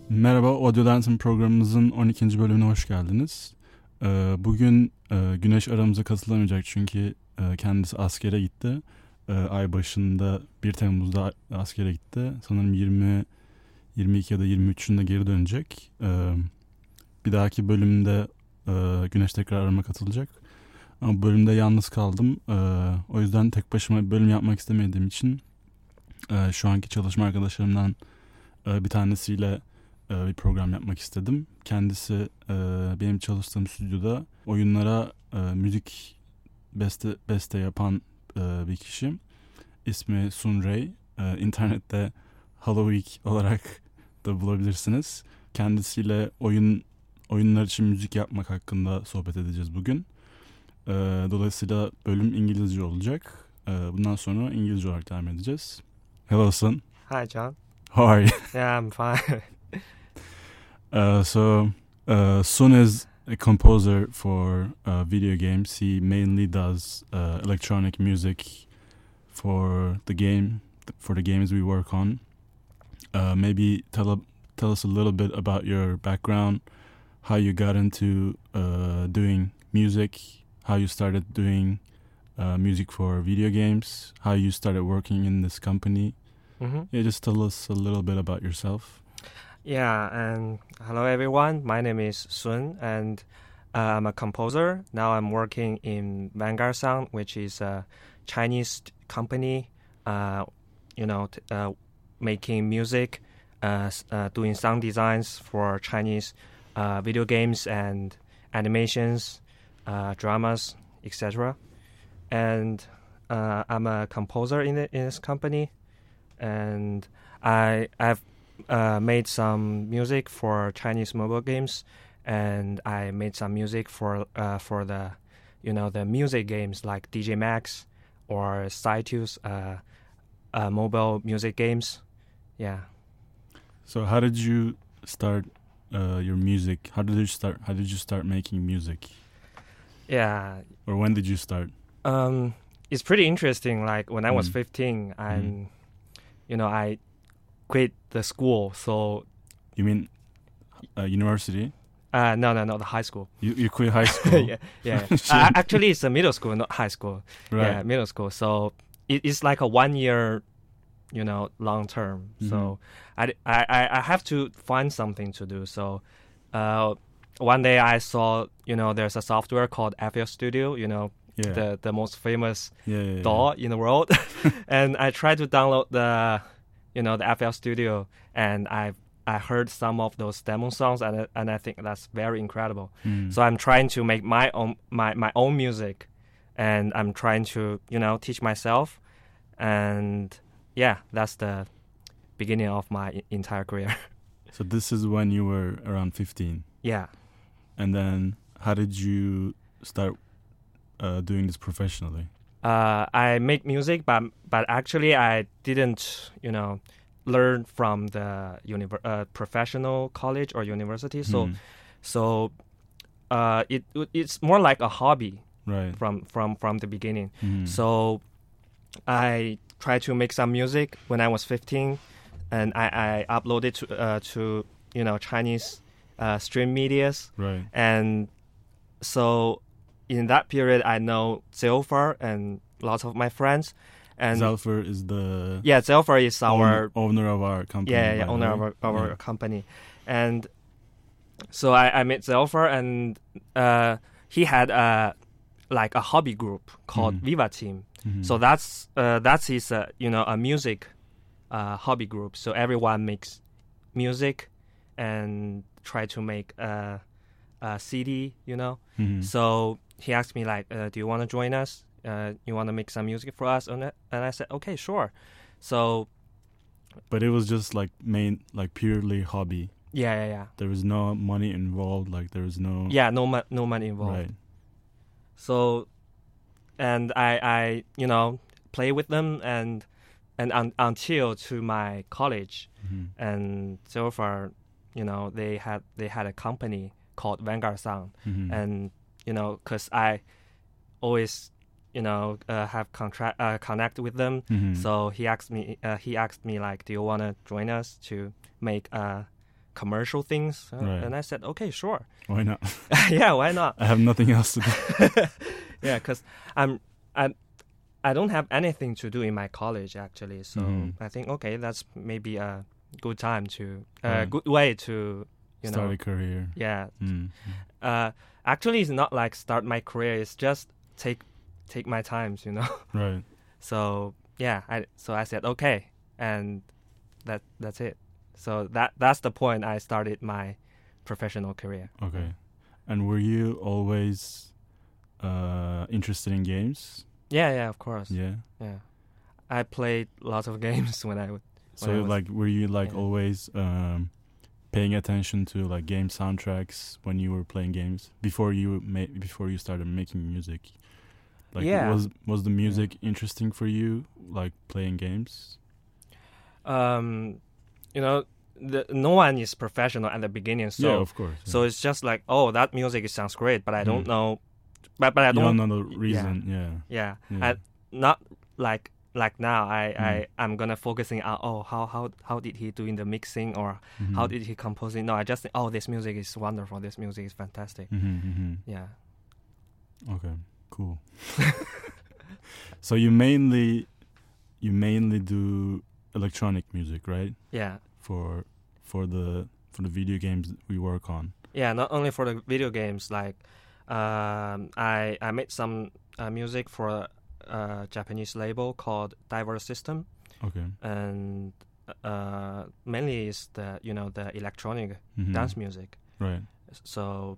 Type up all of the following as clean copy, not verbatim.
Merhaba, Audio Dancing programımızın 12. bölümüne hoş geldiniz. Bugün Güneş aramıza katılamayacak çünkü kendisi askere gitti. Ay başında 1 Temmuz'da askere gitti. Sanırım 22 ya da 23'ünde geri dönecek. Bir dahaki bölümde Güneş tekrar arama katılacak. Ama bölümde yalnız kaldım. O yüzden tek başıma bir bölüm yapmak istemediğim için şu anki çalışma arkadaşlarımdan bir tanesiyle bir program yapmak istedim. Kendisi benim çalıştığım stüdyoda oyunlara müzik beste yapan bir kişi. İsmi Sun Ray. İnternette Halloween olarak da bulabilirsiniz. Kendisiyle oyunlar için müzik yapmak hakkında sohbet edeceğiz bugün. Dolayısıyla bölüm İngilizce olacak. Bundan sonra İngilizce olarak devam edeceğiz. Hello Sun. Hi John. How are you? Yeah, I'm fine. Sun is a composer for video games. He mainly does electronic music for the games we work on. Maybe tell us a little bit about your background, how you got into doing music, how you started doing music for video games, how you started working in this company. Mm-hmm. Yeah, just tell us a little bit about yourself. Yeah, and hello everyone. My name is Sun, and I'm a composer. Now I'm working in Vanguard Sound, which is a Chinese company. Making music, doing sound designs for Chinese video games and animations, dramas, etc. And I'm a composer in this company, and I've made some music for Chinese mobile games, and I made some music for the the music games like DJ Max or Cytus mobile music games. Yeah. So how did you start your music? How did you start making music? Yeah. Or when did you start? It's pretty interesting. Like when I was 15, I quit the school. So you mean university? No, the high school. You quit high school? yeah. Actually, it's a middle school, not high school. Right. Yeah, middle school. So it's like a 1 year, long term. Mm-hmm. So I have to find something to do. So one day I saw, there's a software called FL Studio. The most famous DAW in the world. And I tried to download the FL Studio, and I heard some of those demo songs, and I think that's very incredible. So I'm trying to make my own music, and I'm trying to teach myself, and yeah, that's the beginning of my entire career. So this is when you were around 15. Yeah. And then how did you start doing this professionally? I make music, but actually I didn't, learn from the professional college or university. So it's more like a hobby, right? From the beginning. So I tried to make some music when I was 15, and I uploaded to Chinese stream medias, right? And so in that period, I know Zelfer and lots of my friends. And Zelfer is Zelfer is our owner of our company. Yeah, owner of our company. And so I met Zelfer, and he had a hobby group called Viva Team. So that's his a music hobby group. So everyone makes music and try to make a CD. So he asked me do you want to join us? You want to make some music for us? And I said, okay, sure. So, but it was just purely hobby. Yeah. There was no money involved. There was no. Yeah, no money involved. Right. So, and I play with them and until to my college, and so far, they had a company called Vanguard Sound, and because I always have connect with them. So he asked me do you want to join us to make a commercial things. Right. And I said, okay, sure. Why not? Yeah, why not? I have nothing else to do. Yeah, because I don't have anything to do in my college actually. So I think okay, that's maybe a good time to good way to start a career. Yeah. Actually, it's not like start my career. It's just take my times, Right. So yeah, I said okay, and that's it. So that's the point I started my professional career. Okay. And were you always interested in games? Yeah, of course. Yeah. I played lots of games when I would. Were you always paying attention to like game soundtracks when you were playing games before you started making music? Like, was the music interesting for you, like playing games? No one is professional at the beginning, so yeah, of course. Yeah. So it's just like, oh, that music sounds great, but I don't know. But I don't know the reason. Yeah. I, not like now. I'm gonna focusing on how did he doing the mixing or how did he composing? No, I just think, this music is wonderful. This music is fantastic. Yeah. Okay. Cool. So you mainly do electronic music, right? Yeah. For the video games we work on. Yeah, not only for the video games. Like, I made some music for a Japanese label called Diverse System. Okay. And mainly is the electronic dance music. Right. So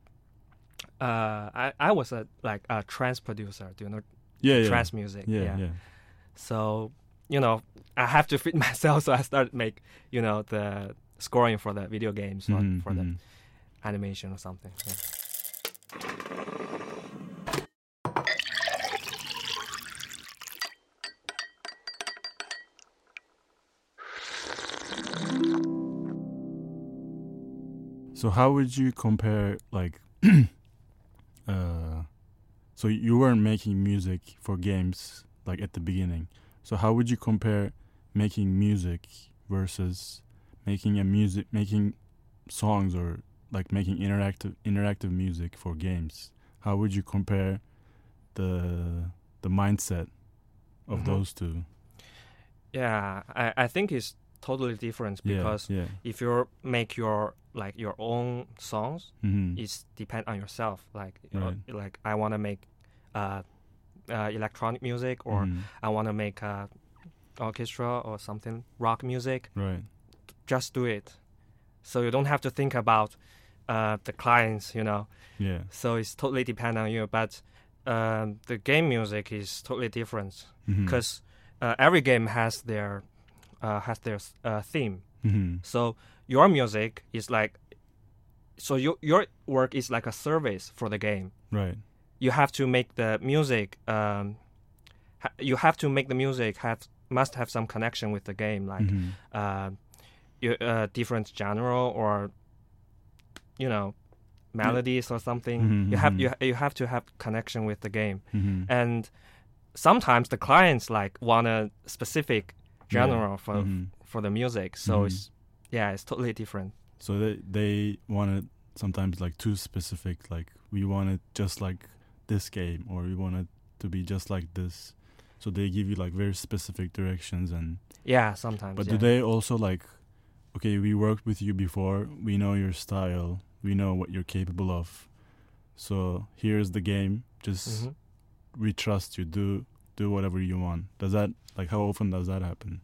I was a trance producer. Do you know? Trance music. Yeah. So I have to fit myself, so I started make the scoring for the video games or for the animation or something. Yeah. So how would you compare so you weren't making music for games like at the beginning. So how would you compare making music versus making songs or like making interactive music for games? How would you compare the mindset of those two? Yeah, I think it's totally different because if you make your own songs, it's depend on yourself. Like like I want to make electronic music or I want to make orchestra or something rock music. Right. Just do it. So you don't have to think about the clients, Yeah. So it's totally depend on you. But the game music is totally different because every game has their theme. So your music is your work is like a service for the game. Right. You have to make the music. Must have some connection with the game, like different genre or melodies or something. You have to have connection with the game, and sometimes the clients want a specific genre for the music. So it's totally different. So they want it sometimes too specific. Like we want it just like this game, or we want it to be just like this. So they give you very specific directions and sometimes. But do they also okay, we worked with you before, we know your style, we know what you're capable of, so here's the game, just we trust you, do whatever you want. Does that how often does that happen?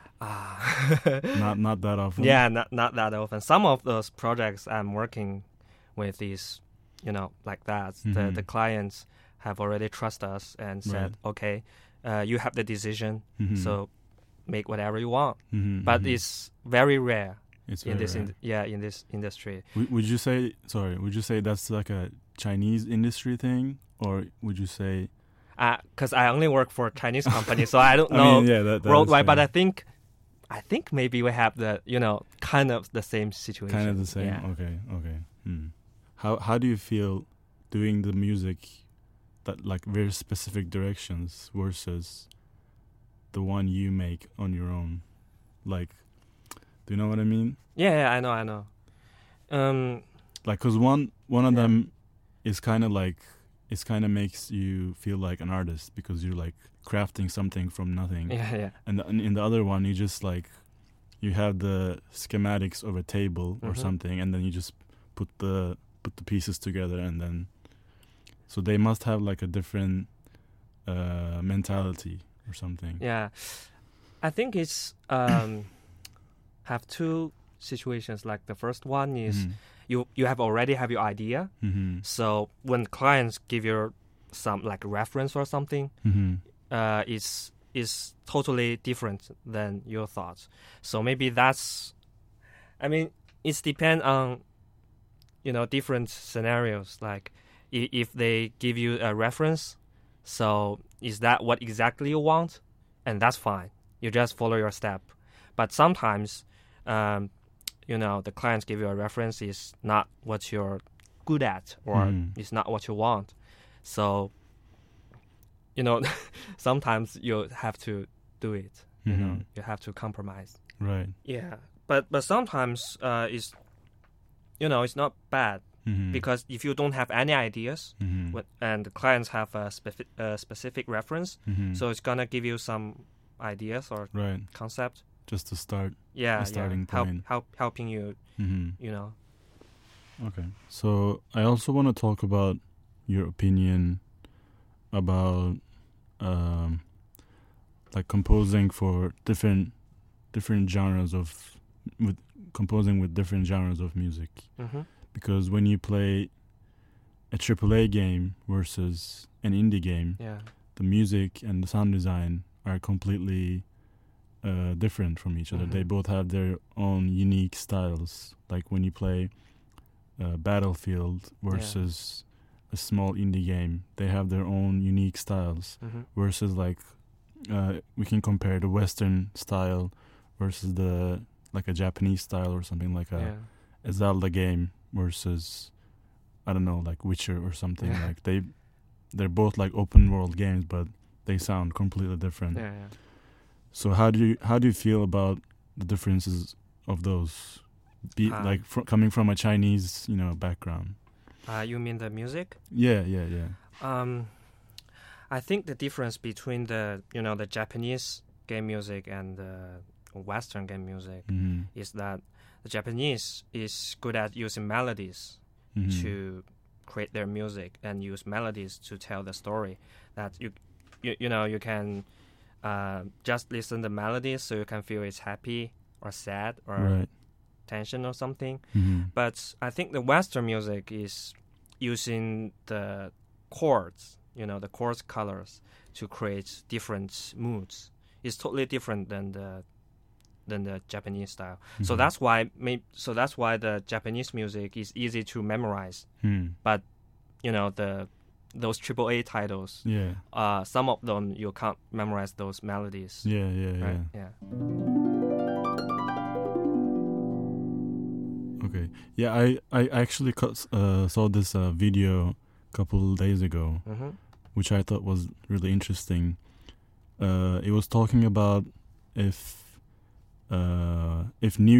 Not that often. Yeah, not that often. Some of those projects I'm working with is like that. The clients have already trust us and said, okay, you have the decision, so make whatever you want. But it's very rare in this industry. Would you say that's like a Chinese industry thing, or would you say? Because I only work for a Chinese company, so I don't know that worldwide. But I think maybe we have the kind of the same situation. Kind of the same. Yeah. Okay. How do you feel doing the music that very specific directions versus the one you make on your own? Do you know what I mean? Yeah, I know. Like, cause one of them is kind of like, it kind of makes you feel like an artist because you're like crafting something from nothing. Yeah. And in the other one, you just like, you have the schematics of a table or something, and then you just put the pieces together, and then, so they must have like a different mentality or something. Yeah, I think it's have two situations. Like the first one is you already have your idea. So when clients give you some like reference or something, is totally different than your thoughts. So maybe that's, I mean, it's depend on, you know, different scenarios. Like if they give you a reference, so is that what exactly you want? And that's fine. You just follow your step. But sometimes, you know, the clients give you a reference is not what you're good at, or it's not what you want. So, you know, sometimes you have to do it. You know, you have to compromise. Right. Yeah. But sometimes it's, you know, it's not bad. Because if you don't have any ideas, and the clients have a specific reference, so it's gonna give you some ideas or concept. Just to start. Yeah, a starting point. Helping you. You know. Okay. So I also want to talk about your opinion about like composing for different genres of composing with different genres of music. Because when you play a AAA game versus an indie game, the music and the sound design are completely different from each other. They both have their own unique styles. Like when you play Battlefield versus a small indie game, they have their own unique styles. Versus like we can compare the Western style versus the like a Japanese style or something, like a Zelda game versus, I don't know, like Witcher or something. Like they're both like open world games, but they sound completely different. So how do you feel about the differences of those, like coming from a Chinese, you know, background? You mean the music? Yeah. I think the difference between the, you know, the Japanese game music and the Western game music is that the Japanese is good at using melodies to create their music, and use melodies to tell the story. That you know, you can just listen to melodies, so you can feel it's happy or sad or tension or something. But I think the Western music is using the chords, you know, the chords colors to create different moods. It's totally different than the Japanese style. So that's why the Japanese music is easy to memorize. But you know, those AAA titles, some of them you can't memorize those melodies. Yeah. Okay. Yeah, I actually saw this video a couple days ago, which I thought was really interesting. It was talking about if the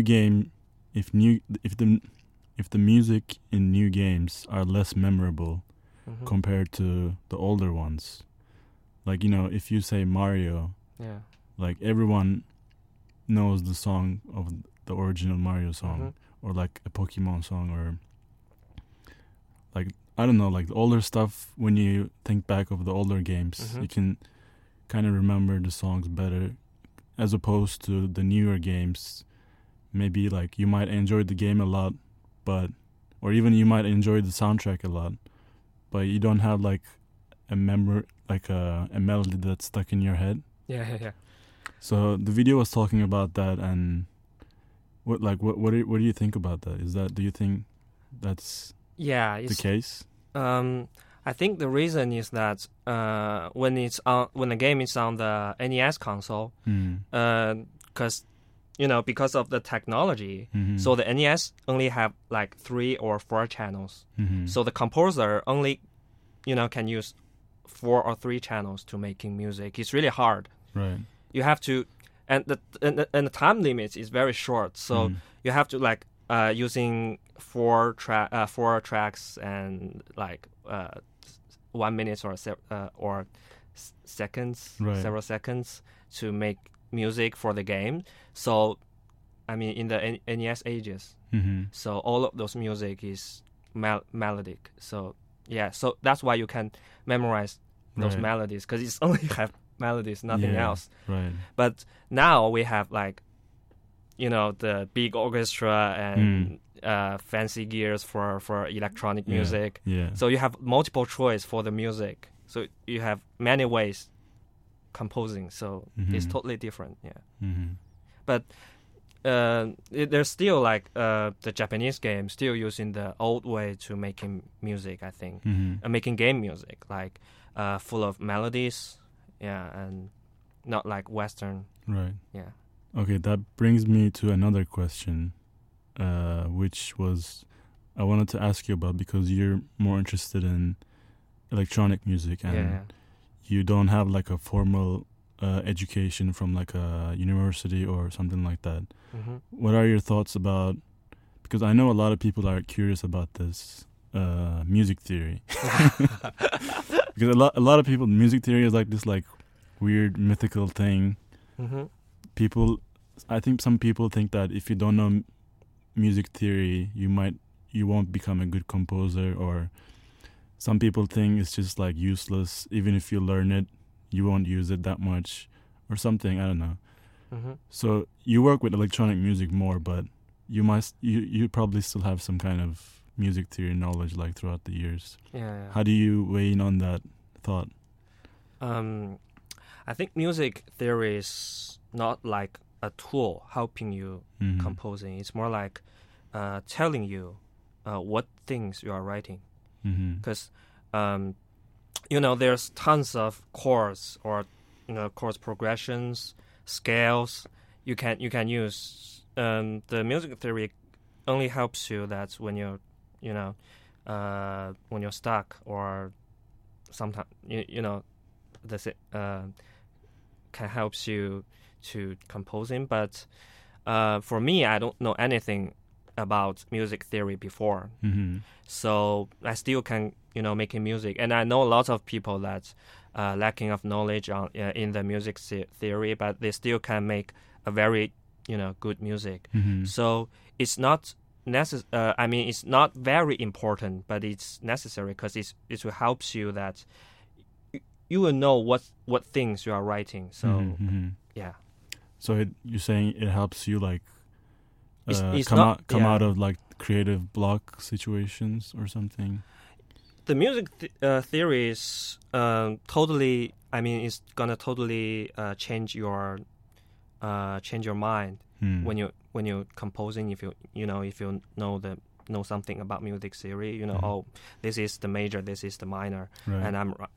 music in new games are less memorable compared to the older ones. Like, you know, if you say Mario, like everyone knows the song of the original Mario song, or like a Pokemon song, or like, I don't know, like the older stuff. When you think back of the older games, you can kind of remember the songs better, as opposed to the newer games. Maybe like you might enjoy the game a lot, or even you might enjoy the soundtrack a lot, but you don't have like a melody that's stuck in your head. Yeah. So the video was talking about that, and what do you think about that? Do you think that's the case? I think the reason is that when the game is on the NES console, because you know, because of the technology, so the NES only have like 3 or 4 channels. So the composer only, you know, can use 4 or 3 channels to making music. It's really hard. Right. You have to, and the time limit is very short. So you have to like using four tracks and like 1 minute or seconds, several seconds to make music for the game. So, I mean, in the NES ages, so all of those music is melodic. So yeah, so that's why you can memorize those melodies, because it's only have melodies, nothing else. Right. But now we have like, you know, the big orchestra and fancy gears for electronic music. Yeah. So you have multiple choice for the music. So you have many ways composing. So it's totally different. Yeah. But there's still like the Japanese game still using the old way to making music, I think. Making game music, like full of melodies, and not like Western. Right. Yeah. Okay, that brings me to another question, which was I wanted to ask you about, because you're more interested in electronic music and you don't have like a formal education from like a university or something like that. What are your thoughts about, because I know a lot of people are curious about this, music theory. Because a lot of people, music theory is like this like weird mythical thing. People, I think some people think that if you don't know music theory, you won't become a good composer, or some people think it's just like useless. Even if you learn it, you won't use it that much or something. I don't know. So you work with electronic music more, but you probably still have some kind of music theory knowledge like throughout the years. Yeah. How do you weigh in on that thought? I think music theory is not like a tool helping you composing. It's more like telling you what things you are writing. Because you know, there's tons of chords or, you know, chords progressions, scales you can use. The music theory only helps you that when you're, you know, when you're stuck, or sometimes you know, this can help you to composing. But for me, I don't know anything about music theory before, so I still can, you know, making music. And I know lots of people that lacking of knowledge on in the music theory, but they still can make a very, you know, good music. So it's not I mean, it's not very important, but it's necessary, because it will help you that you will know what things you are writing. So yeah. So you're saying it helps you like it's come not, out of like creative block situations or something. The music theory is totally. I mean, it's gonna totally change your mind when you composing. If you know something about music theory, you know, oh, this is the major, this is the minor, and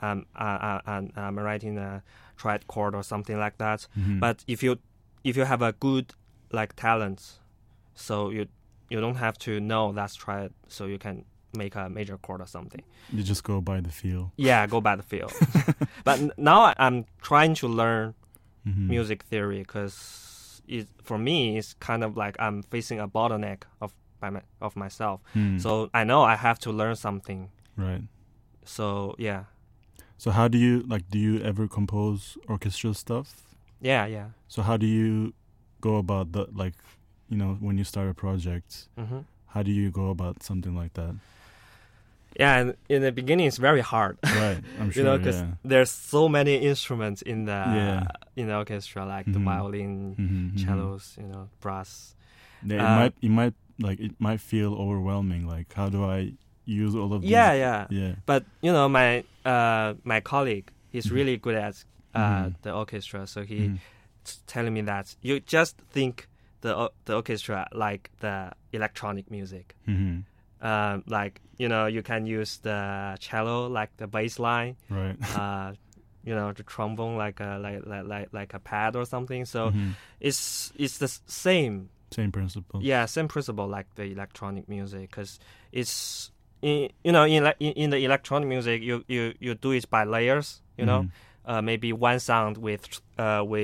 I'm writing a triad chord or something like that. But if you have a good like talent, so you don't have to know that's triad, so you can make a major chord or something. You just go by the feel. Yeah, go by the feel. But now I'm trying to learn music theory, because for me it's kind of like I'm facing a bottleneck of myself. So I know I have to learn something. Right. So yeah. So how do you do you ever compose orchestral stuff? Yeah. So how do you go about the, like, you know, when you start a project, how do you go about something like that? Yeah, and in the beginning it's very hard. Right, I'm sure. You know, because there's so many instruments in the in the orchestra, like the violin, cellos, you know, brass. Yeah, it might feel overwhelming. Like, how do I use all of these? Yeah. But you know, my colleague, he's really good at the orchestra, so he telling me that you just think the orchestra like the electronic music. Like, you know, you can use the cello like the bass line, right? You know, the trombone like a pad or something. So it's the same principle. Yeah, same principle like the electronic music, because it's in the electronic music you do it by layers. You know, maybe one sound with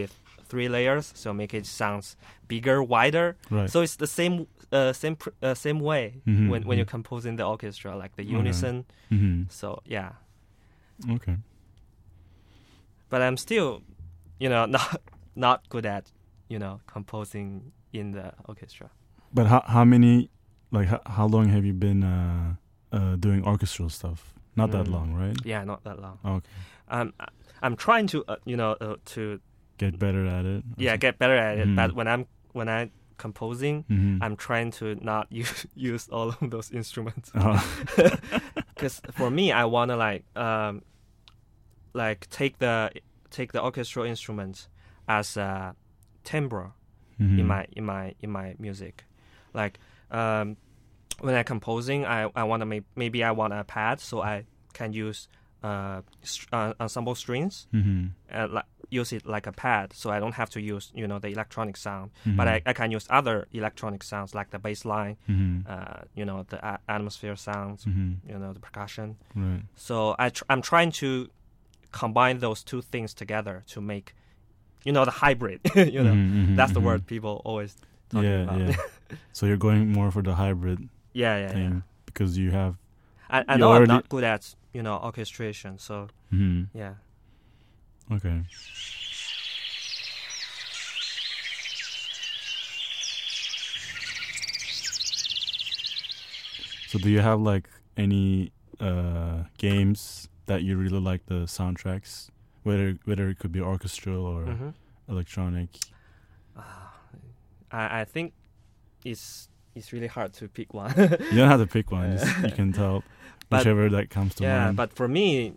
3 layers, so make it sounds bigger, wider. Right. So it's the same way when you're composing the orchestra, like the unison. So yeah. Okay. But I'm still, not good at, composing in the orchestra. But how many, like how long have you been doing orchestral stuff? Not that long, right? Yeah, not that long. Okay. I'm trying to to get better at it. Yeah, get better at it. But when I'm composing, I'm trying to not use all of those instruments. Because for me, I wanna take the orchestral instruments as a timbre in my music. Like when I'm composing, I want to maybe I want a pad, so I can use ensemble strings and use it like a pad, so I don't have to use the electronic sound, but I can use other electronic sounds like the bass line, the atmosphere sounds, the percussion. Right. So I'm trying to combine those two things together to make the hybrid. That's the word people always talk about. Yeah. So you're going more for the hybrid thing because you have. I know I'm not good at orchestration, so yeah. Okay. So do you have like any games that you really like the soundtracks, whether it could be orchestral or electronic? I think it's really hard to pick one. You don't have to pick one. You can tell whichever that comes to mind. Yeah, but for me,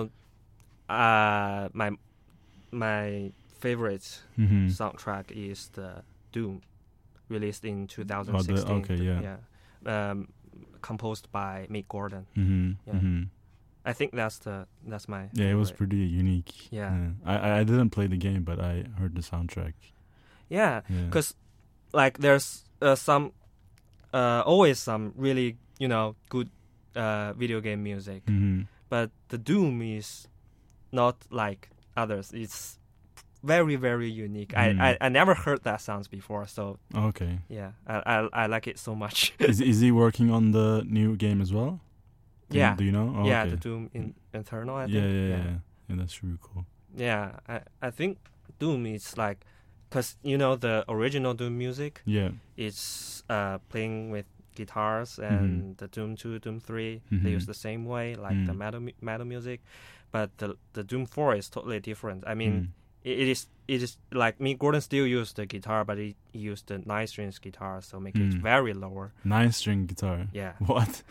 my favorite soundtrack is the Doom, released in 2016. Composed by Mick Gordon. I think that's my favorite. It was pretty unique. I didn't play the game, but I heard the soundtrack. Because like there's always some really good video game music, but the Doom is not like others. It's very, very unique. I never heard that sounds before, so okay. I like it so much. Is he working on the new game as well? Do you know? Okay. The Doom Eternal, I think. Yeah, that's really cool. Yeah, I think Doom is like, because the original Doom music, it's playing with guitars, and the Doom 2, Doom 3, they use the same way, like the metal music, but the Doom 4 is totally different. I mean, it is like Mick Gordon still used the guitar, but he used the 9-string guitar, so make it very lower. 9-string guitar? Yeah. What?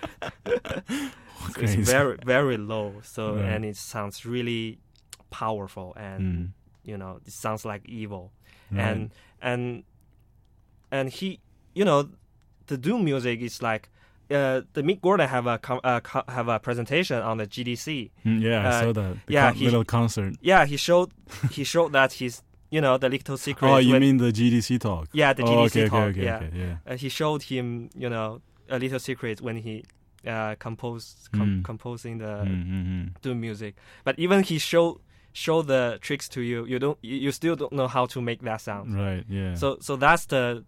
So it's very, very low, so and it sounds really powerful, and it sounds like evil. Right. And he, the Doom music is like, the Mick Gordon have a presentation on the GDC. I saw that. Little concert. Yeah, he showed that he's the little secret. Oh, you mean the GDC talk? Yeah, the GDC talk. Okay. He showed him a little secret when he composing the Doom music. But even he show the tricks to you, you still don't know how to make that sound. Right. Yeah. So that's the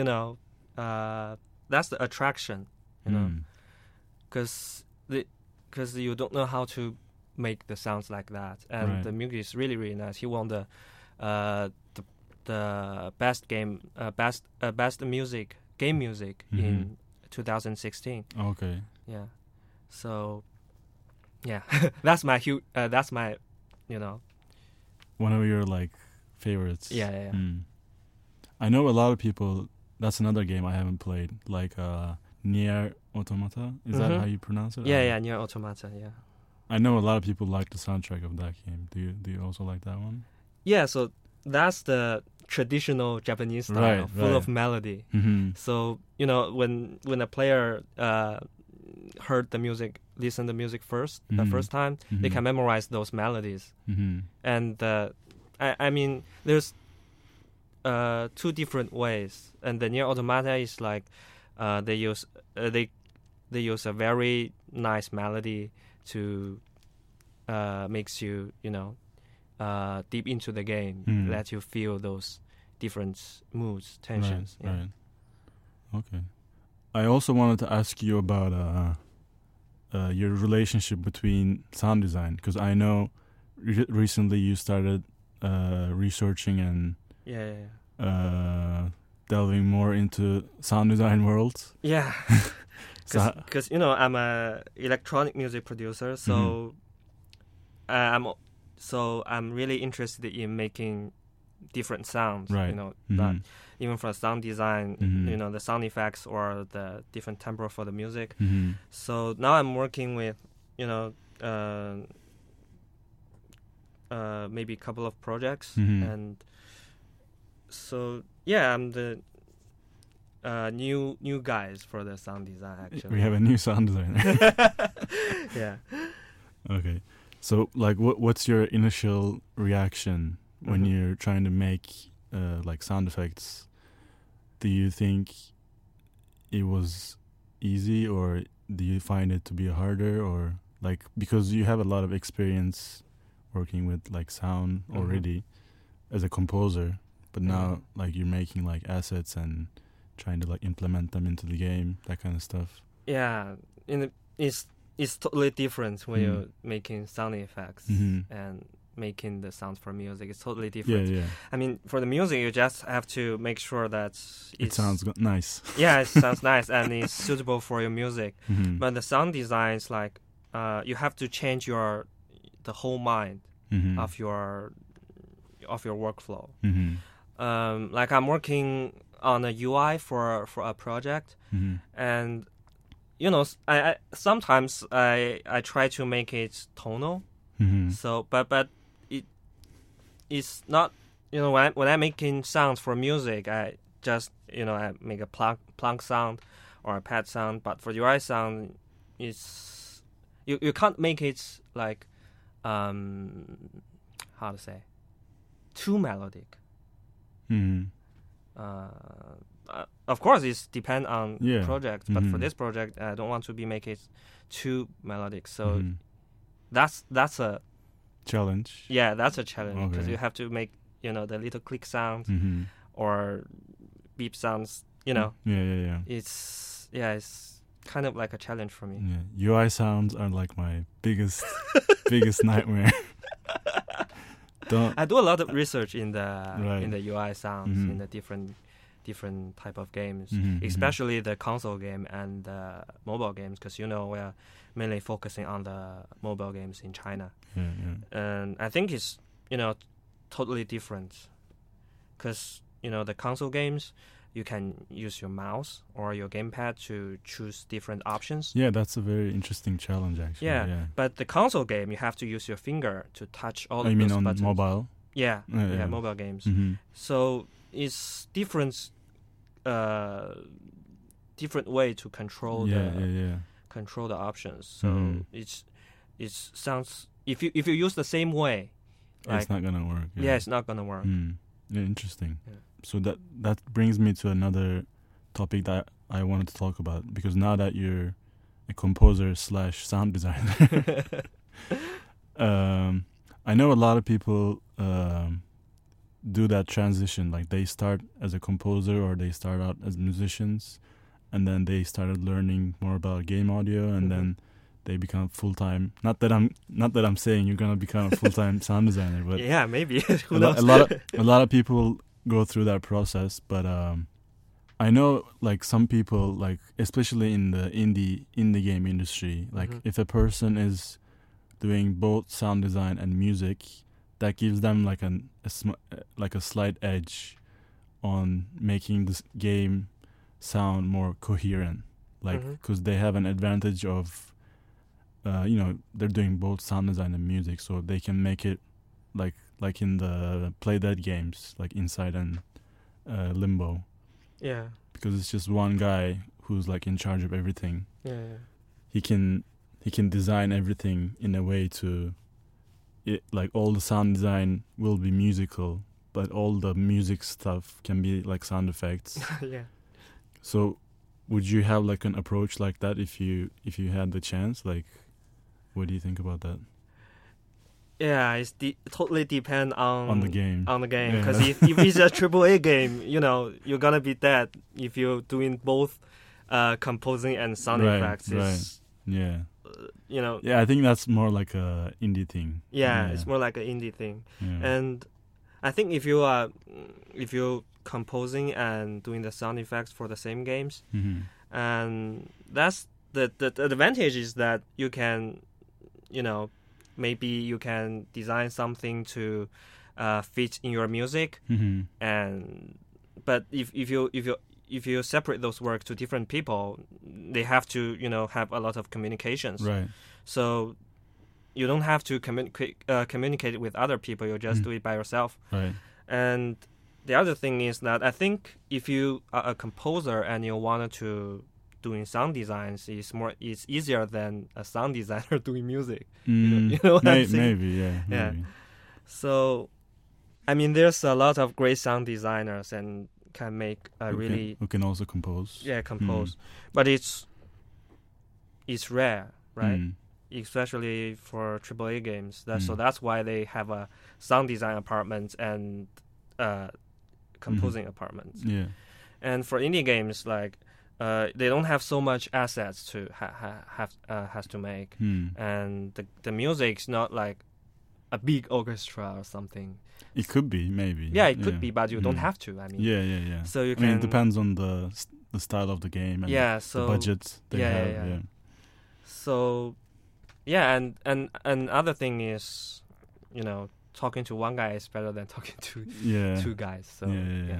that's the attraction. Because you don't know how to make the sounds like that, and the music is really, really nice. He won the best game music in 2016. Okay. Yeah. So yeah, that's my one of your like favorites. Yeah. I know a lot of people. That's another game I haven't played. Like Nier Automata. Is that how you pronounce it? Yeah, Nier Automata. Yeah. I know a lot of people like the soundtrack of that game. Do you also like that one? Yeah. So that's the traditional Japanese style, full of melody. So when a player heard the music, listened to the music first, the first time, they can memorize those melodies. And I mean, there's 2 different ways, and the Nier Automata is like they use a very nice melody to makes you deep into the game, let you feel those different moods, tensions. Right. Okay. I also wanted to ask you about your relationship between sound design, because I know recently you started researching and delving more into sound design world. Yeah, because I'm a electronic music producer, so I'm really interested in making different sounds. Right. That even for sound design, the sound effects or the different tempo for the music. So now I'm working with maybe a couple of projects, and so I'm the new guys for the sound design. Actually, we have a new sound designer. Yeah. Okay, so like, what's your initial reaction when you're trying to make like sound effects? Do you think it was easy, or do you find it to be harder, or like, because you have a lot of experience working with like sound already as a composer, but now like you're making like assets and trying to like implement them into the game, that kind of stuff. Yeah, it's totally different when you're making sound effects and making the sounds for music. It's totally different. Yeah. I mean, for the music, you just have to make sure that it sounds nice. Yeah, it sounds nice and it's suitable for your music. But the sound design is like you have to change the whole mind of your workflow. Like I'm working on a UI for a project, and I sometimes I try to make it tonal. So but it's not, when I'm making sounds for music, I just I make a plunk sound or a pad sound. But for UI sound, it's you can't make it like how to say, too melodic. Of course, it's depend on project, but for this project, I don't want to make it too melodic. So that's a challenge. Yeah, that's a challenge, because you have to make the little click sounds or beep sounds. Yeah. It's kind of like a challenge for me. Yeah. UI sounds are like my biggest nightmare. I do a lot of research in the UI sounds in the different type of games, especially the console game and the mobile games, because we are mainly focusing on the mobile games in China. And I think it's totally different, because the console games, you can use your mouse or your gamepad to choose different options. Yeah, that's a very interesting challenge, actually. Yeah. But the console game, you have to use your finger to touch all of those buttons. You mean on mobile? Yeah, mobile games. So it's different way to control control the options. So it sounds, if you use the same way, it's not gonna work. Yeah, it's not gonna work. Yeah, interesting. Yeah. So that brings me to another topic that I wanted to talk about, because now that you're a composer / sound designer, I know a lot of people do that transition. Like, they start as a composer or they start out as musicians, and then they started learning more about game audio, and then they become full-time. Not that I'm saying you're gonna become a full-time sound designer, but yeah, maybe. Who knows? A lot of people go through that process, but I know like some people, like especially in the indie game industry, like if a person is doing both sound design and music, that gives them like a slight edge on making this game sound more coherent, like because they have an advantage of they're doing both sound design and music, so they can make it like in the Play Dead games, like Inside and Limbo. Yeah. Because it's just one guy who's like in charge of everything. Yeah. He can design everything in a way to like all the sound design will be musical, but all the music stuff can be like sound effects. Yeah. So would you have like an approach like that if you had the chance? Like, what do you think about that? Yeah, totally depend on the game. On the game, because if it's a AAA game, you're gonna be dead if you're doing both composing and sound effects. Right. Yeah. Yeah, I think that's more like a indie thing. Yeah, it's more like an indie thing. Yeah. And I think if you're composing and doing the sound effects for the same games, and that's the advantage is that you can, maybe you can design something to fit in your music, but if you separate those work to different people, they have to have a lot of communications. Right. So you don't have to communicate with other people. You just do it by yourself. Right. And the other thing is that I think if you are a composer and you wanted to doing sound designs, it's easier than a sound designer doing music. You know what I'm saying? Maybe, yeah. Maybe. So, I mean, there's a lot of great sound designers and can make who can also compose. Yeah, compose. But it's rare, right? Especially for AAA games. So that's why they have a sound design apartment and composing apartments. Yeah. And for indie games, like they don't have so much assets to has to make, and the music's not like a big orchestra or something. It could be, maybe. Yeah, it could be, but you don't have to. I mean, yeah. So you can. I mean, it depends on the style of the game and the budget they have. Yeah. So, and other thing is, talking to one guy is better than talking to two guys. So yeah.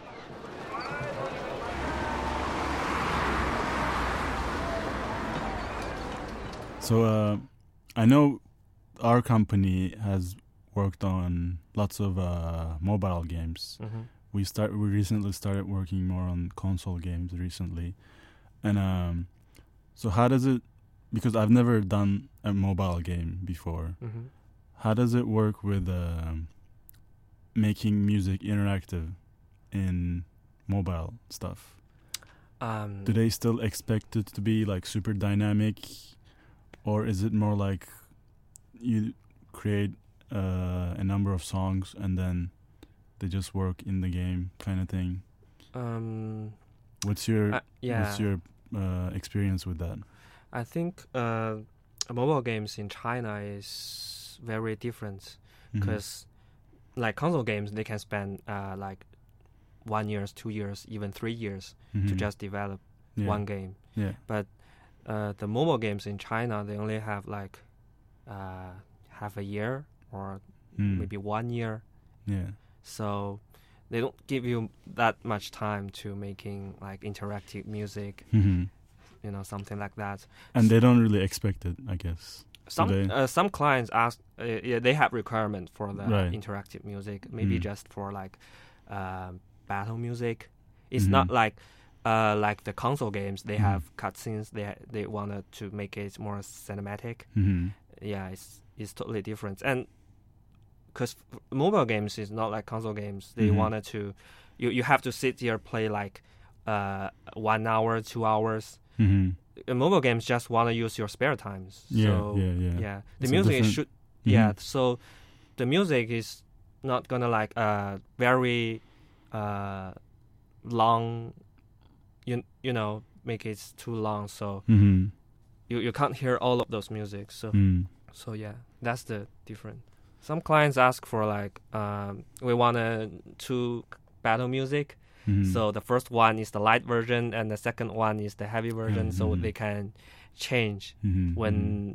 So I know our company has worked on lots of mobile games. We recently started working more on console games recently, and so how does it? Because I've never done a mobile game before. How does it work with making music interactive in mobile stuff? Do they still expect it to be like super dynamic, or is it more like you create a number of songs and then they just work in the game kind of thing? What's your experience with that? I think mobile games in China is very different because like console games, they can spend like 1 year, 2 years, even 3 years to just develop one game. Yeah. But the mobile games in China, they only have like half a year or maybe 1 year. Yeah. So they don't give you that much time to making like interactive music, something like that. And they don't really expect it, I guess. Some clients ask, they have requirement for the interactive music, maybe just for like battle music. It's not like the console games. They have cutscenes. They wanted to make it more cinematic. Yeah, it's totally different. And because mobile games is not like console games. They wanted to, you have to sit here play like 1 hour, 2 hours. Mobile games just want to use your spare times. So, yeah. The music should. Yeah. So the music is not gonna like very long. Make it too long. So you can't hear all of those music. So yeah, that's the difference. Some clients ask for like we want two battle music. So the first one is the light version and the second one is the heavy version, so they can change when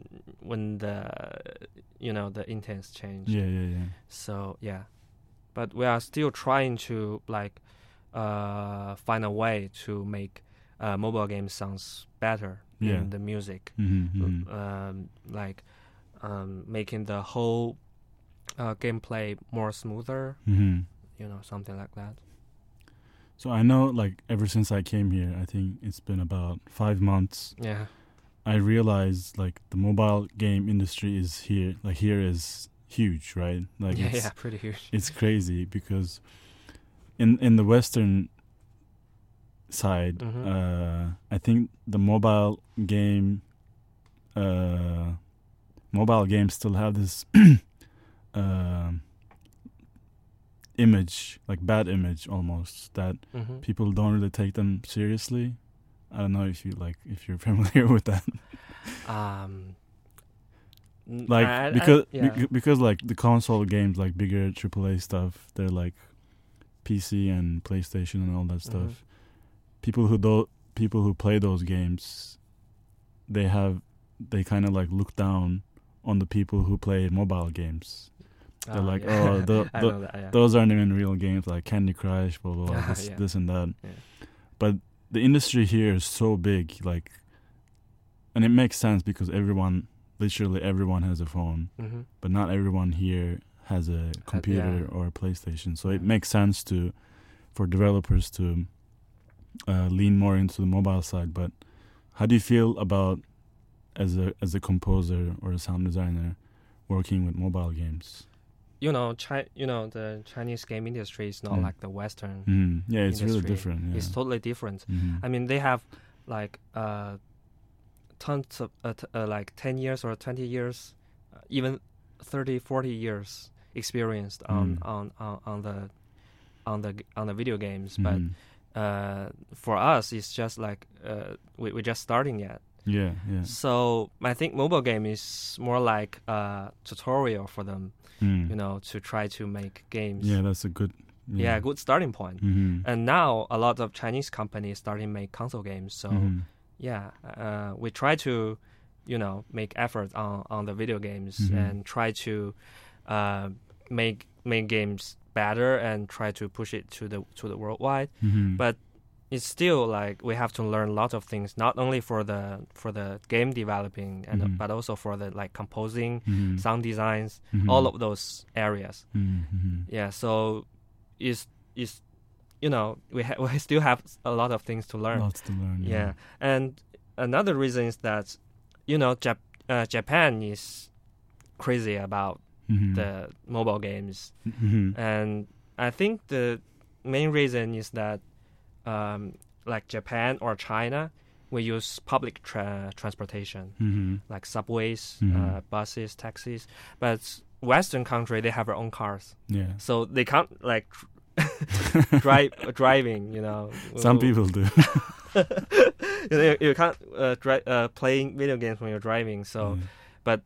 the intents change. Yeah. So yeah, but we are still trying to like find a way to make mobile game sounds better in the music, like making the whole gameplay more smoother, something like that. So I know, like, ever since I came here, I think it's been about 5 months. Yeah. I realized, like, the mobile game industry is here. Like, here is huge, right? Like, yeah, pretty huge. It's crazy because in the Western side, I think the mobile games still have this image, like bad image almost, that people don't really take them seriously. I don't know if you're familiar with that. Because like the console games, like bigger AAA stuff, they're like PC and PlayStation and all that stuff. People who play those games, they kind of like look down on the people who play mobile games. They're like, those aren't even real games, like Candy Crush, blah blah blah, this and that. Yeah. But the industry here is so big, like, and it makes sense because literally everyone has a phone, but not everyone here has a computer or a PlayStation. So it makes sense for developers to lean more into the mobile side. But how do you feel about as a composer or a sound designer working with mobile games? The Chinese game industry is not like the Western. Yeah, it's industry. Really different. Yeah. It's totally different. I mean, they have like tons of like 10 years or 20 years, even 30, 40 years experienced on the video games. But for us, it's just like we're just starting yet. Yeah. So I think mobile game is more like a tutorial for them, to try to make games. Yeah, that's a good. Yeah, good starting point. And now a lot of Chinese companies starting make console games. So we try to, make effort on the video games and try to make games better and try to push it to the worldwide. But it's still like we have to learn a lot of things, not only for the game developing but also for the like composing, sound designs, all of those areas. Yeah, so we still have a lot of things to learn. Lots to learn. Yeah. And another reason is that Japan is crazy about the mobile games, and I think the main reason is that like Japan or China, we use public transportation, like subways, buses, taxis. But Western country, they have their own cars. Yeah. So they can't like driving. Some people do. You can't playing video games when you're driving. So, but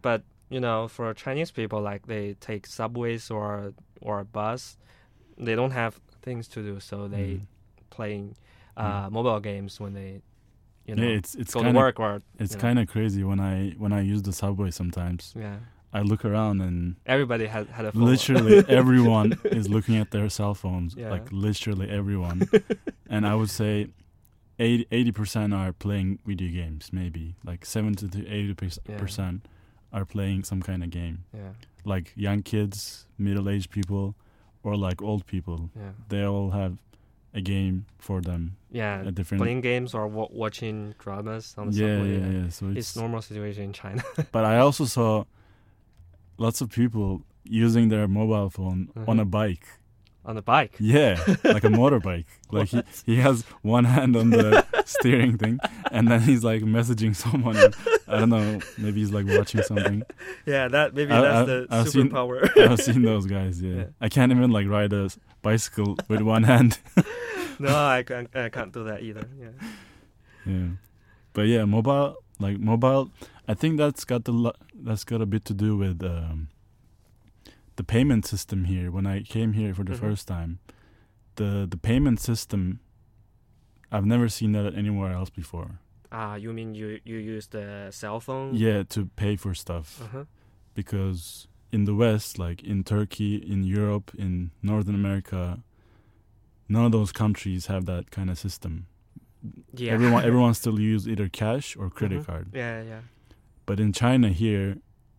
for Chinese people, like they take subways or a bus, they don't have things to do, so they playing mobile games when they it's go to work or it's kind of crazy when I use the subway sometimes. Yeah. I look around and everybody had a phone. Literally everyone is looking at their cell phones. Yeah. Like literally everyone. And I would say 80% are playing video games, maybe. Like 70 to 80% are playing some kind of game. Yeah. Like young kids, middle-aged people, or like old people. Yeah. They all have a game for them. Yeah, playing games or watching dramas on the subway. Yeah. So it's normal situation in China. But I also saw lots of people using their mobile phone on a bike. On a bike? Yeah, like a motorbike. Like he has one hand on the steering thing, and then he's like messaging someone. And, I don't know, maybe he's like watching something. Yeah, that's the superpower. I've seen those guys. Yeah, I can't even like ride a bicycle with one hand. No, I can't do that either. Yeah, but yeah, mobile. I think that's got a bit to do with the payment system here. When I came here for the first time, the payment system, I've never seen that anywhere else before. You mean you use the cell phone? Yeah, to pay for stuff. Because in the West, like in Turkey, in Europe, in Northern America, none of those countries have that kind of system. Yeah. Everyone still use either cash or credit card. Yeah. But in China here,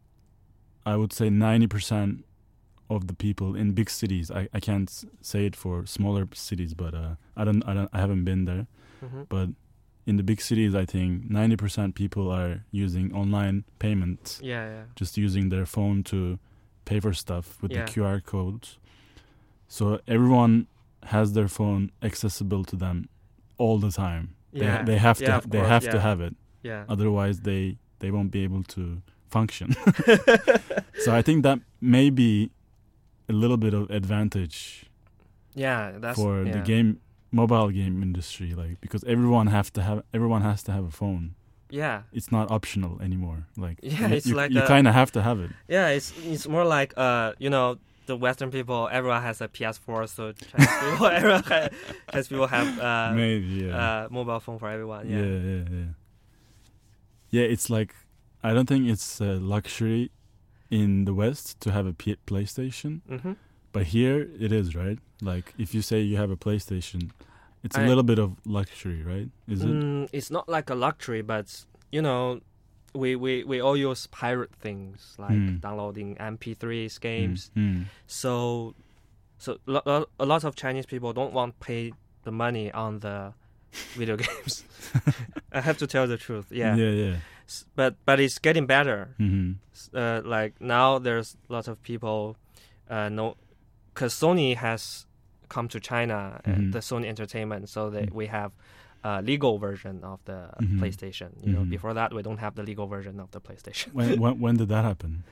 I would say 90% of the people in big cities. I can't say it for smaller cities, but I haven't been there. But in the big cities, I think 90% people are using online payments. Yeah. Just using their phone to pay for stuff with the QR codes. So everyone has their phone accessible to them all the time. They have to have it. Yeah. Otherwise, they won't be able to function. So I think that may be a little bit of advantage. Yeah, that's for the mobile game industry, like, because everyone has to have a phone. Yeah, it's not optional anymore. Like, it's you, like you kind of have to have it. Yeah, it's more like the Western people, everyone has a PS4, so Chinese people, Chinese people have maybe mobile phone for everyone. Yeah, it's like, I don't think it's a luxury in the West to have a PlayStation. Mm-hmm. But here it is, right? Like, if you say you have a PlayStation, it's a little bit of luxury, right? Is it? It's not like a luxury, but we all use pirate things, like downloading MP3s games. So a lot of Chinese people don't want to pay the money on the video games. I have to tell the truth. Yeah. But it's getting better. Mm-hmm. Like now, there's lots of people because Sony has come to China, the Sony Entertainment, so that we have a legal version of the PlayStation. Before that, we don't have the legal version of the PlayStation. When did that happen?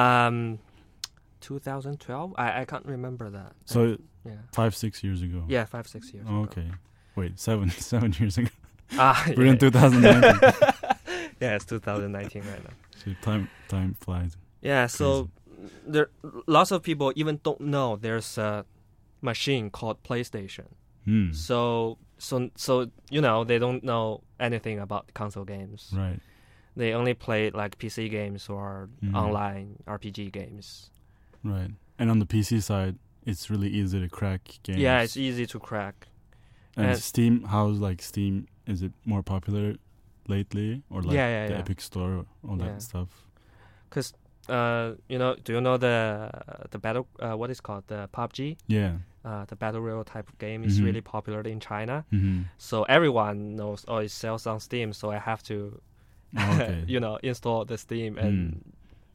2012. I can't remember that. So 5-6 years ago. Yeah, 5-6 years. Oh, okay. Wait, 7 years ago. We're in 2019. Yeah, it's 2019 right now. So time flies. Yeah, so there lots of people even don't know there's a machine called PlayStation. So they don't know anything about console games. Right. They only play like PC games or online RPG games. Right. And on the PC side, it's really easy to crack games. Yeah, it's easy to crack. And Steam, how's like Steam? Is it more popular lately, or like the Epic Store, all that stuff? Because do you know the battle? What is called the PUBG? Yeah. The battle royale type of game is really popular in China. So everyone knows, it sells on Steam. So I have to, install the Steam and,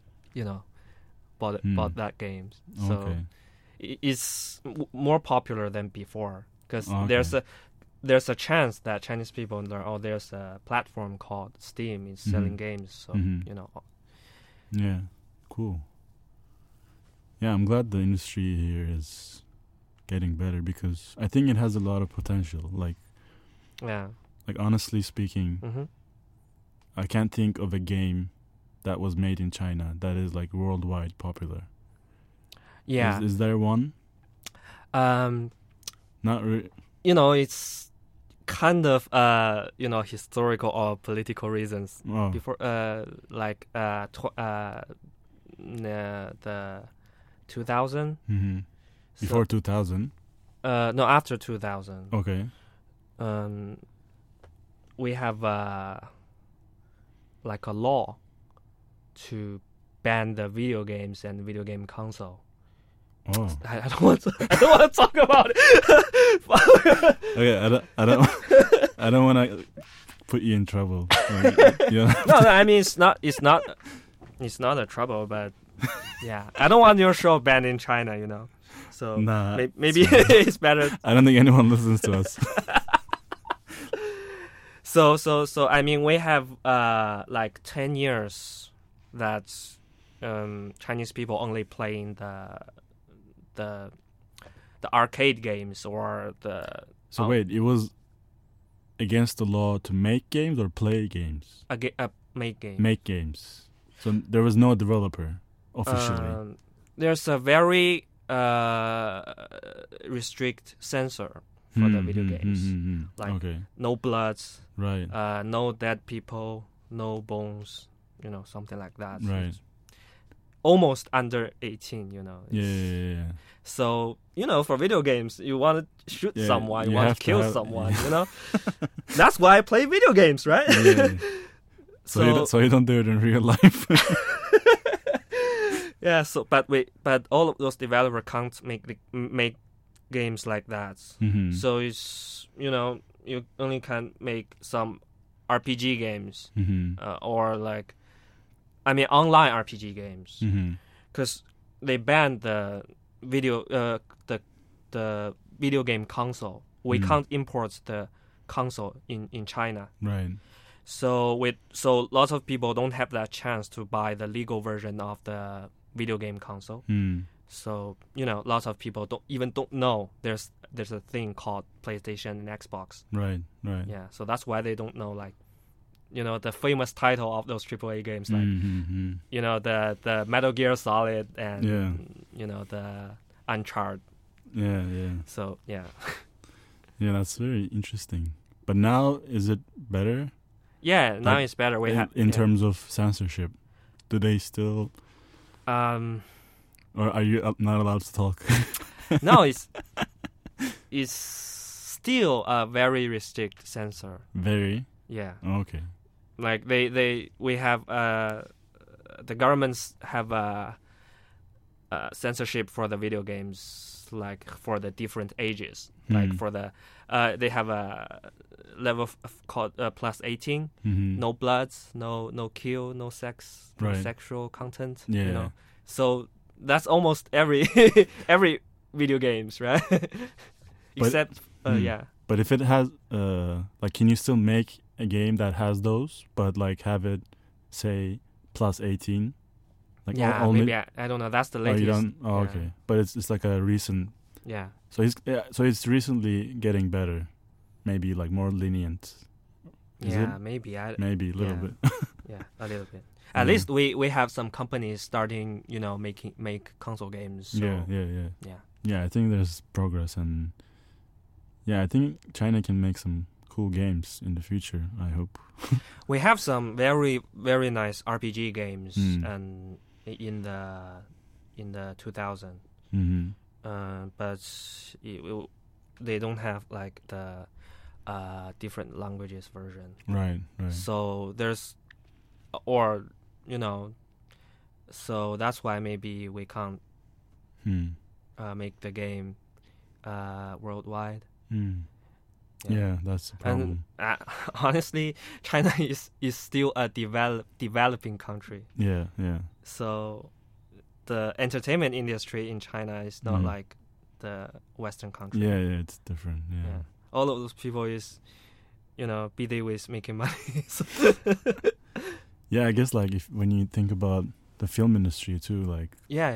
bought that game. So it's more popular than before because there's a chance that Chinese people know, there's a platform called Steam is selling games. So Yeah, cool. Yeah, I'm glad the industry here is getting better because I think it has a lot of potential. Like honestly speaking, I can't think of a game that was made in China that is like worldwide popular. Yeah. Is there one? Not really. It's kind of historical or political reasons. Before the 2000. Before 2000? No, after 2000. Okay. We have like a law to ban the video games and video game console. Oh. I don't want to talk about it. Okay, I don't want to put you in trouble. No, I mean it's not a trouble, but yeah, I don't want your show banned in China, So maybe it's better. I don't think anyone listens to us. So I mean, we have like 10 years that Chinese people only playing the arcade games or the. So wait, it was against the law to make games or play games? Make games. Make games. So there was no developer officially. There's a very restrict censor for the video games. Like no bloods, right? No dead people, no bones, something like that. Right. Almost under 18, Yeah. So, for video games, you want to shoot someone, you want to kill someone, That's why I play video games, right? Yeah. So you don't do it in real life. Yeah, but all of those developers can't make games like that. So it's, you only can make some RPG games or like, online RPG games, because they banned the video the video game console. We can't import the console in China. Right. So lots of people don't have that chance to buy the legal version of the video game console. So lots of people don't know there's a thing called PlayStation and Xbox. Right. Yeah, so that's why they don't know the famous title of those AAA games, like the Metal Gear Solid and the Uncharted. Yeah. So yeah. Yeah, that's very interesting. But now is it better? Yeah, now it's better. In terms of censorship, do they still? Or are you not allowed to talk? No, it's still a very restrict censor. Very? Yeah. Oh, okay. Like we have the governments have censorship for the video games, like for the different ages. Like for the they have a level called plus 18. No bloods, no kill, no sex, no sexual content. Yeah. So that's almost every video games, right? Except yeah. But if it has can you still make a game that has those, but like have it say plus 18? Like maybe I don't know. That's the latest. Oh, you don't? Oh, yeah. Okay. But it's like a recent. Yeah. So it's recently getting better, maybe like more lenient. Is it? Maybe maybe a little bit. Yeah, a little bit. At least we have some companies starting, make console games. So. Yeah. I think there's progress, and I think China can make some cool games in the future. I hope. We have some very very nice RPG games, and in the 2000s. But they don't have like the different languages version. Right. So there's, so that's why maybe we can't make the game worldwide. Yeah, that's the problem. And honestly, China is still a developing country. Yeah. So the entertainment industry in China is not like the Western country. Yeah, it's different. Yeah. All of those people is, busy with making money. Yeah, I guess like when you think about the film industry too, like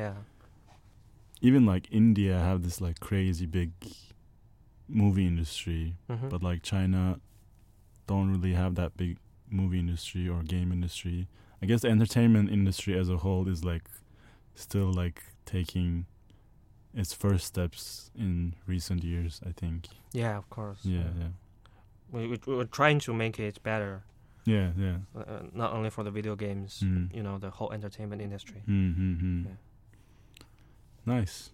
even like India have this like crazy big movie industry, but like China don't really have that big movie industry or game industry. I guess the entertainment industry as a whole is like still like taking its first steps in recent years, I think. Yeah, of course. Yeah. We're trying to make it better. Yeah. Not only for the video games, the whole entertainment industry. Yeah. Nice.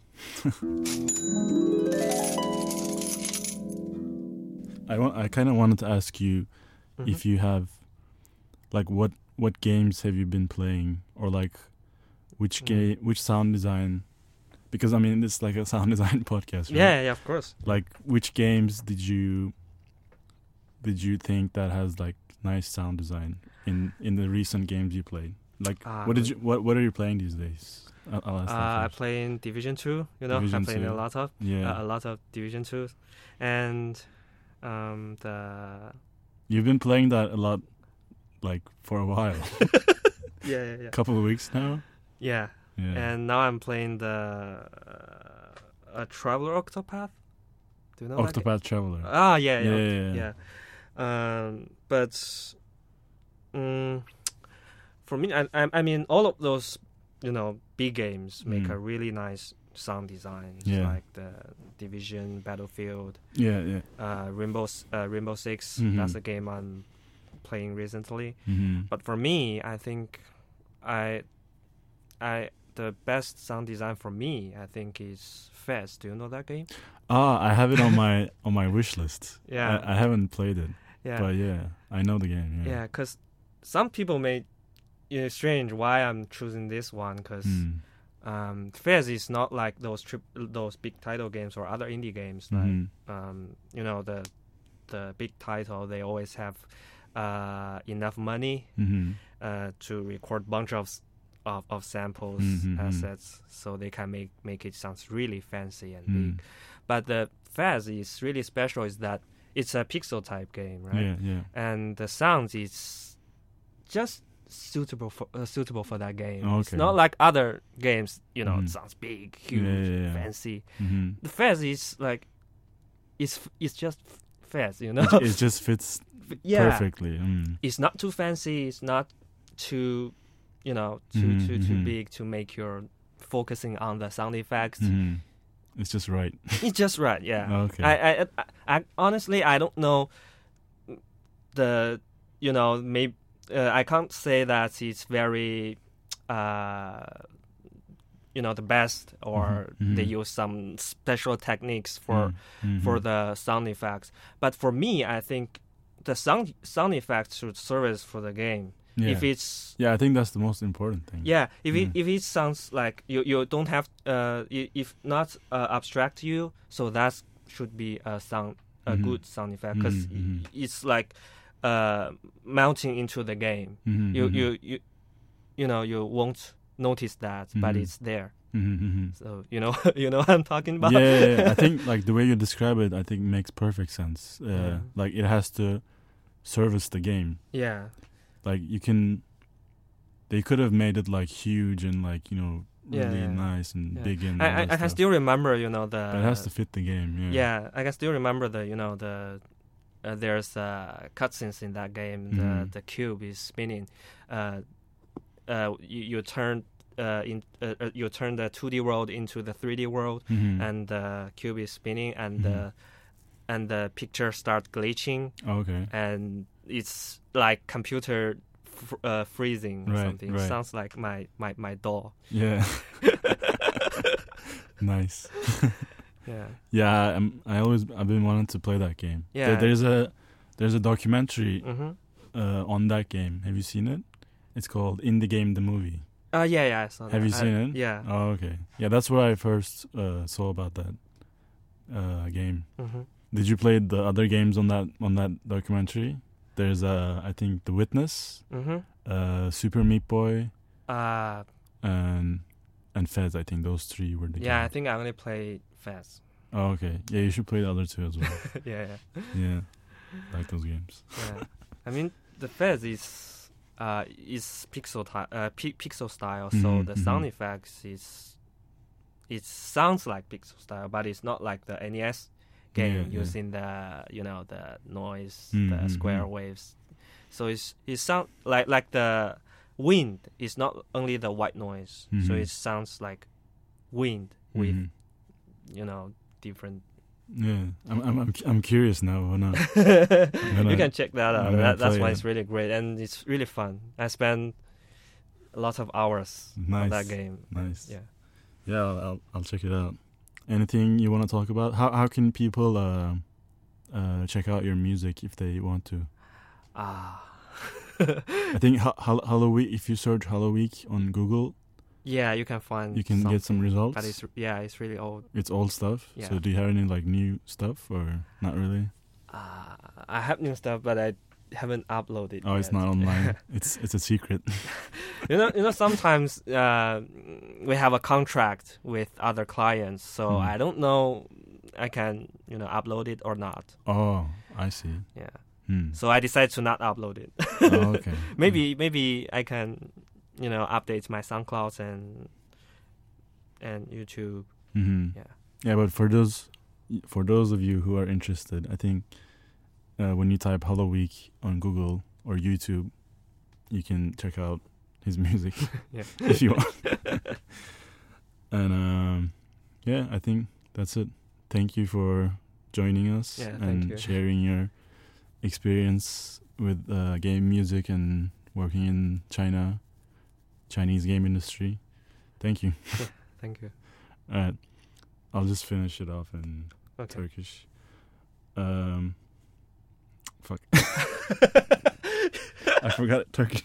I kind of wanted to ask you if you have, like, what games have you been playing, or like which sound design? Because I mean, it's like a sound design podcast, right? Yeah, of course. Like, which games did you think that has like nice sound design in the recent games you played? Like, what are you playing these days? I'll ask I play in Division 2. I'm playing a lot of Division 2, and You've been playing that a lot, like for a while. Yeah. Couple of weeks now. Yeah. And now I'm playing the Traveler Octopath. Do you know Octopath Traveler? Ah, yeah. But for me, I mean, all of those, big games make a really nice sound design. Like the Division, Battlefield. Yeah. Rainbow Six. That's a game I'm playing recently. But for me, I think the best sound design for me, I think, is Fez. Do you know that game? I have it on my wish list. Yeah. I haven't played it. Yeah. But I know the game. Yeah, because some people may strange why I'm choosing this one, because Fez is not like those big title games or other indie games. Like the big title, they always have enough money to record bunch of samples, assets, so they can make it sounds really fancy and big. But the Fez is really special is that it's a pixel type game, right? Yeah. And the sound is just suitable for that game. Okay. It's not like other games, you know, Mm-hmm. it sounds big, huge, fancy. Mm-hmm. The Fez is like, it's just Fez, you know. It just fits perfectly. Mm. It's not too fancy. It's not too, you know, too big to make your focusing on the sound effects. Mm-hmm. It's just right. It's just right, yeah. Okay. I honestly, I don't know the, you know, maybe I can't say that it's very, you know, the best, or they use some special techniques for the sound effects. But for me, I think the sound effects should service for the game. Yeah. If it's I think that's the most important thing. Yeah, if it sounds like you don't have if not abstract to you, so that should be a good sound effect, because it's like mounting into the game. You know, you won't notice that, but it's there. So you know what I'm talking about. Yeah. I think like the way you describe it, I think makes perfect sense. Like it has to service the game. Yeah. Like they could have made it like huge and like, you know, really nice and big and I can still remember, you know, but it has to fit the game. Yeah, I can still remember there's cutscenes in that game. The cube is spinning. You turn you turn the 2D world into the 3D world, and the cube is spinning, and the picture starts glitching. Okay. And it's like computer freezing or something. Right. It sounds like my doll. Yeah. Nice. Yeah. Yeah, I've been wanting to play that game. Yeah. There's a documentary on that game. Have you seen it? It's called In the Game the Movie. Yeah, I saw that. Have you seen it? Yeah. Oh, okay. Yeah, that's where I first saw about that game. Did you play the other games on that documentary? There's I think The Witness, Super Meat Boy, and Fez. I think those three were the games. Yeah, I think I only played Fez. Oh, okay. Yeah, you should play the other two as well. Yeah. Yeah, like those games. Yeah, I mean the Fez is pixel style, so the sound effects it sounds like pixel style, but it's not like the NES game using the the noise, the square waves. So it sounds like the wind is not only the white noise, so it sounds like wind with different. Yeah, I'm curious now. You can check that out. That's why it's really great, and it's really fun. I spent a lot of hours on that game. Nice. Yeah. I'll check it out. Anything you want to talk about? How can people check out your music if they want to? I think Halloween. If you search Halloween on Google, you can find. You can get some results. But it's really old. It's old stuff. Yeah. So do you have any like new stuff or not really? I have new stuff, but I haven't uploaded. Oh, it's not online. It's a secret. You know. Sometimes we have a contract with other clients, so I don't know. I can upload it or not. Oh, I see. Yeah. So I decided to not upload it. Oh, okay. Maybe I can update my SoundCloud and YouTube. Yeah, but for those of you who are interested, I think when you type Hello Week on Google or YouTube, you can check out his music if you want. And I think that's it. Thank you for joining us and sharing your experience with game music and working in Chinese game industry. Thank you. Thank you. All right. I'll just finish it off in Turkish. Fuck. I forgot Turkish.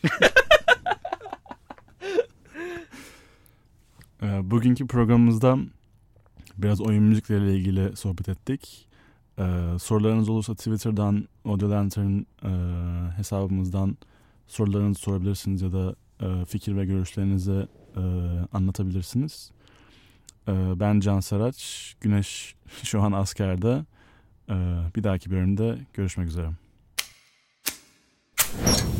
Bugünkü programımızda biraz oyun müzikleriyle ilgili sohbet ettik. Sorularınız olursa Twitter'dan, Audio Lantern hesabımızdan sorularınızı sorabilirsiniz ya da fikir ve görüşlerinizi anlatabilirsiniz. Ben Can Saraç, Güneş şu an askerde. Bir dahaki bölümde görüşmek üzere.